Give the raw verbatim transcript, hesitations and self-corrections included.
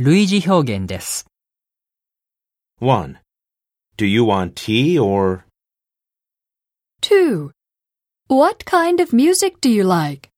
類似表現です。 one. Do you want tea or? two. What kind of music do you like?